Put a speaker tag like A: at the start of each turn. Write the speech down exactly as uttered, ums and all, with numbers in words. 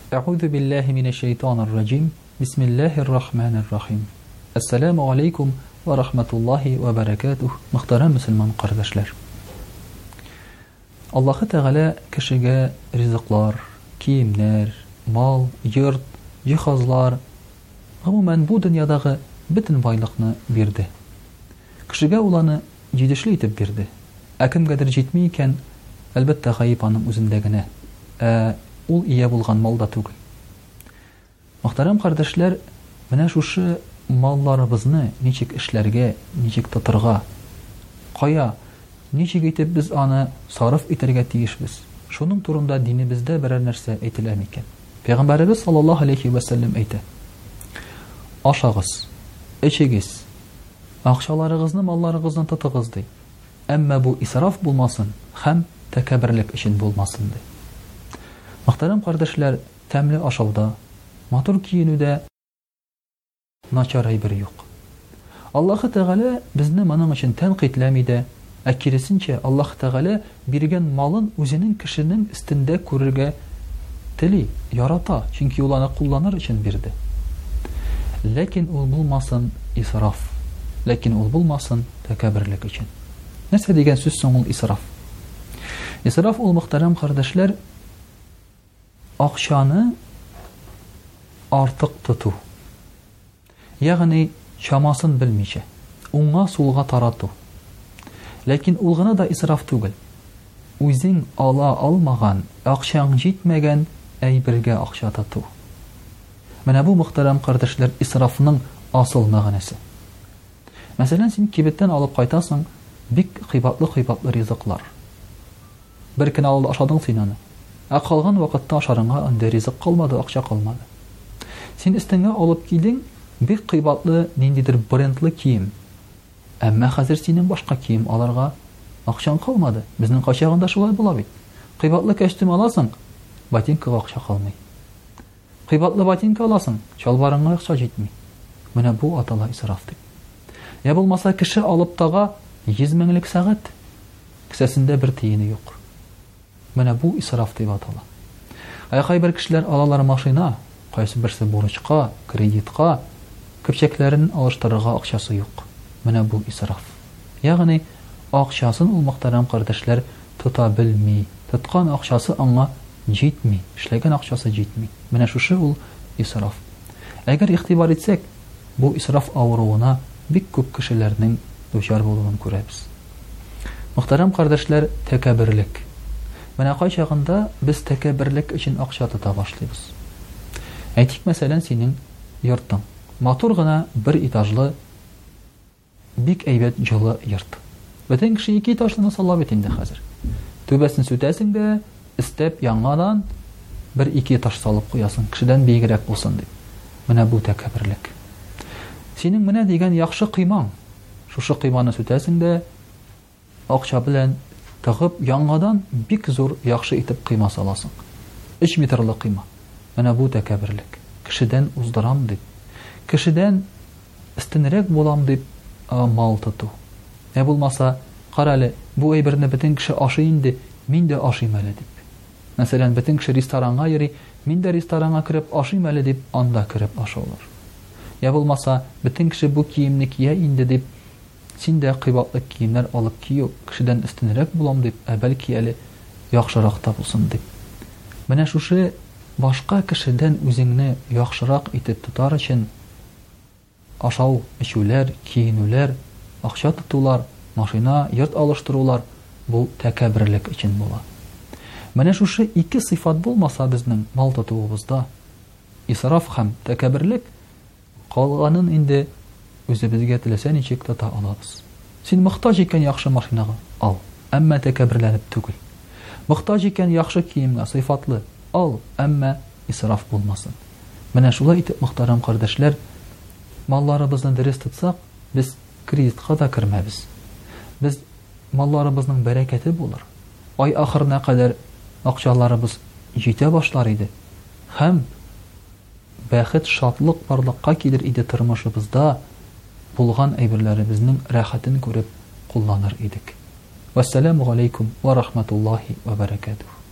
A: А'удhu billahi minash shaytanir rajim. Bismillahir rahmanir rahim. Assalamu alaykum wa rahmatullahi wa barakatuh. Muhtaram musulmon qardoshlar. Alloh Taala kişiге rizqlar, kiyimler, mal, yurt, jihozlar, umuman bu dunyodagi bütün boyliqni berdi. Kişiге уланы җидешле итеп бирде. Ә кемгәдер җитми икән, әлбәттә гаип аның үзендә генә. Ә ул ия булган малда түгел. Мөхтәрәм кардәшләр, менә шушы малларыбызны ничек эшләргә, ничек тотырга, кая, ничек итеп без аны сарыф итәргә тиешбез. Шуның турында динебездә берәр нәрсә әйтелә микән? Пәйгамбәрбез саллаллаһу алейхи ва саллям әйтә: Ашагыз, эчегез, акчаларыгызны, малларыгызны тотыгыз ди. Әмма бу исраф булмасын һәм тәкәбберлек өчен булмасын ди. Мөхтәрәм кардәшләр, тәмле ашауда, матур киенүдә начар әйбер юк. Аллаһ Тәгалә безне моның өчен тәнкыйтьләми дә, ә киресенчә Аллаһ Тәгалә биргән малын үзенең кешенең өстендә күрергә тели, ярата, чөнки ул аны кулланыр өчен бирде. Ләкин ул булмасын исраф, ләкин ул булмасын тәкәбберлек өчен. Нәрсә дигән сүз соң ул исраф? Исраф ул, мөхтәрәм кардәшләр, акчаны артык тоту. Ягъни чамасын белмичә, уңга сулга тарату. Ләкин ул гына да исраф түгел. Үзең ала алмаган, акчаң җитмәгән әйбергә акча тоту. Менә бу, мөхтәрәм кардәшләр, исрафның асыл мәгънәсе. Мәсәлән, син кибеттән алып кайтасың бик кыйбатлы-кыйбатлы ризыклар. Бер көн алып ашадың син аны. Ә калган вакытта ашарыңа анда ризык калмады, акча калмады. Син өстеңә алып килдең бик кыйбатлы ниндидер брендлы кием. Әмма хәзер синең башка кием аларга акчаң калмады. Безнең качагында шулай була бит. Кыйбатлы костюм аласың, ботинкага акча калмый. Кыйбатлы ботинка аласың, чалбарыңа акча җитми. Менә бу атала исраф дип. Я булмаса, кеше алып тага йөз меңлек сәгать, кесәсендә бер тиене юк. Менә бу исраф дип атала. Ә кайбер кешеләр алалар машина, кайсы берсе бурычка, кредитка, көпчәкләрен алыштырырга акчасы юк. Менә бу исраф. Ягъни акчасын ул, мөхтәрәм кардәшләр, тота белми, тоткан акчасы аңа җитми, эшләгән акчасы җитми. Менә шушы ул исраф. Әгәр игътибар итсәк, бу исраф авыруына бик күп кешеләрнең дучар булуын күрәбез. Мөхтәрәм кардәшләр, тәкәбберлек. Менә кайчагында без тәкәбберлек өчен акча тота башлыйбыз. Әйтик, мәсәлән, синең йортың матур гына бер этажлы бик әйбәт җылы йорт. Бөтен кеше ике этажлыны сала бит инде хәзер. Түбәсен сүтәсең дә, истәп яңадан бер ике этаж салып куясың, кешедән биегрәк булсын дип. Менә бу тәкәбберлек. Синең менә дигән яхшы кыймаң, шушы кыйманы сүтәсең дә, акча белән тыгып яңадан бик зур яхшы итеп кыйма саласың. өч метрлы кыйма. Менә бу тәкәбберлек. Кешедән уздырам дип, кешедән истенрәк булам дип мал тоту. Ә булмаса, кара әле, бу әйберне бөтен кеше ашый инде, мин дә ашыйм әле дип. Мәсәлән, бөтен кеше ресторанга йөри, мин дә ресторанга кереп ашыйм әле дип, анда кереп ашаулар. Я булмаса, бөтен кеше бу киемне кия инде дип, син дә кыйбатлы киемнәр алып кию, кешедән истенрәк булам дип, ә бәлки әле яхшырак та булсын дип. Менә шушы башка кешедән үзеңне яхшырак итеп тотар өчен ашау, эчүләр, киенүләр, акча тотулар, машина, йорт алыштырулар бу тәкәбберлек өчен була. Менә шушы ике сыйфат булмаса безнең мал тотуыбызда, исраф һәм тәкәбберлек, калганын инде үзебезгә теләсә ничек тота алабыз. Син мохтаҗ икән яхшы машинага, ал, әмма тәкәбберләнеп түгел. Мохтаҗ икән яхшы киемгә, сыйфатлы, ал, әмма исраф булмасын. Менә шулай итеп, мөхтәрәм кардәшләр, малларыбызны дөрес тотсак, без кредитка да кермәбез. Без малларыбызның бәрәкәте булыр. Ай ахырына кадәр акчаларыбыз җитә башлар иде. Һәм бәхет, шатлык, барлыкка килер иде тормышыбызда. Булган әйберләребезнең рәхәтен күреп кулланыр идек. Вассаламу алейкум ва рахматуллахи ва баракатуһ.